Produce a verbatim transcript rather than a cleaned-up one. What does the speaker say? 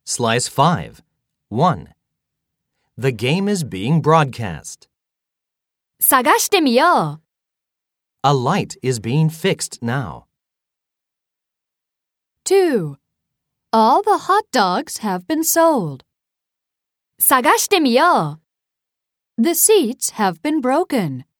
Slice five. one. The game is being broadcast. 探してみよう。 A light is being fixed now. two. All the hot dogs have been sold. 探してみよう。The seats have been broken.